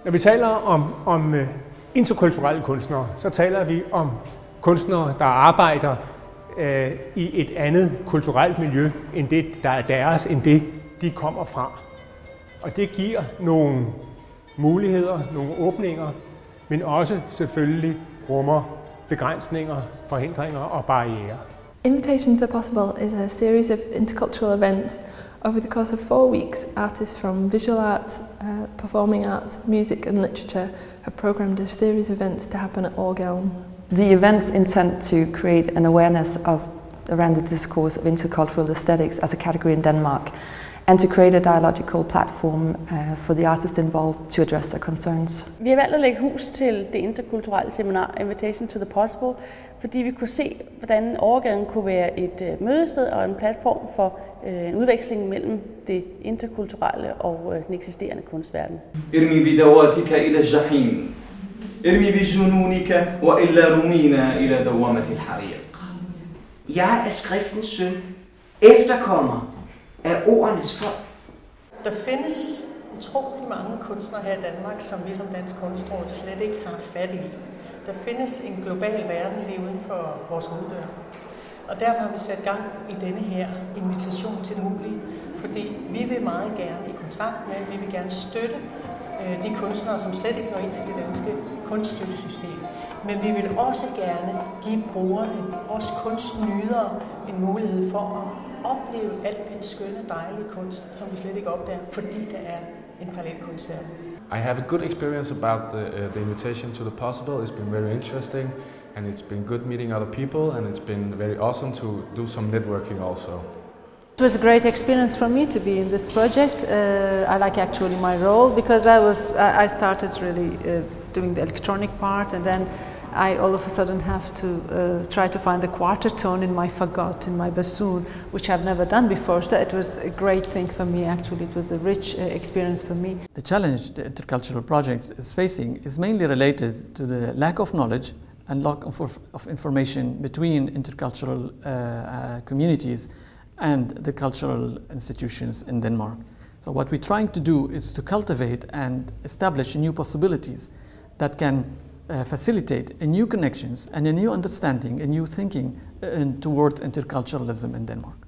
Når vi taler om interkulturelle kunstnere, så taler vi om kunstnere, der arbejder i et andet kulturelt miljø, end det, der er deres, end det, de kommer fra. Og det giver nogle muligheder, nogle åbninger, men også selvfølgelig rummer begrænsninger, forhindringer og barrierer. Invitation to the Possible is a series of intercultural events. Over the course of 4 weeks, artists from visual arts, performing arts, music and literature have programmed a series of events to happen at Orgeln. The events intend to create an awareness around the discourse of intercultural aesthetics as a category in Denmark, and to create a dialogical platform for the artists involved to address their concerns. Vi har valgt at lægge hus til det interkulturelle seminar Invitation to the Possible, fordi vi kunne se, hvordan Orgeln kunne være et mødested og en platform for en udveksling mellem det interkulturelle og den eksisterende kunstverden. ارمي بدواتك إلى الجحيم ارمي بجنونك وإلا رمينا إلى دوامة الحريق. Jeg er skriftens søn, efterkommer af ordenes folk. Der findes utrolig mange kunstnere her i Danmark, som vi som Dansk Kunstråd slet ikke har fat i. Der findes en global verden lige uden for vores hoveddør. Og derfor har vi sat gang i denne her invitation til det mulige, fordi vi vil meget gerne i kontakt med, vi vil gerne støtte de kunstnere, som slet ikke når ind til det danske kunststøttesystem. Men vi vil også gerne give brugerne, os kunstnydere, en mulighed for at opleve alt den skønne, dejlige kunst, som vi slet ikke opdager, fordi der er en parallel kunstverden. I have a good experience about the invitation to the Possible. It's been very interesting, and it's been good meeting other people, and it's been very awesome to do some networking also. It was a great experience for me to be in this project. I like actually my role because I started really doing the electronic part, and then I all of a sudden have to try to find the quarter tone in my fagot, in my bassoon, which I've never done before. So it was a great thing for me, actually. It was a rich experience for me. The challenge the intercultural project is facing is mainly related to the lack of knowledge and lack of information between intercultural communities and the cultural institutions in Denmark. So what we're trying to do is to cultivate and establish new possibilities that can facilitate a new connections and a new understanding, a new thinking towards interculturalism in Denmark.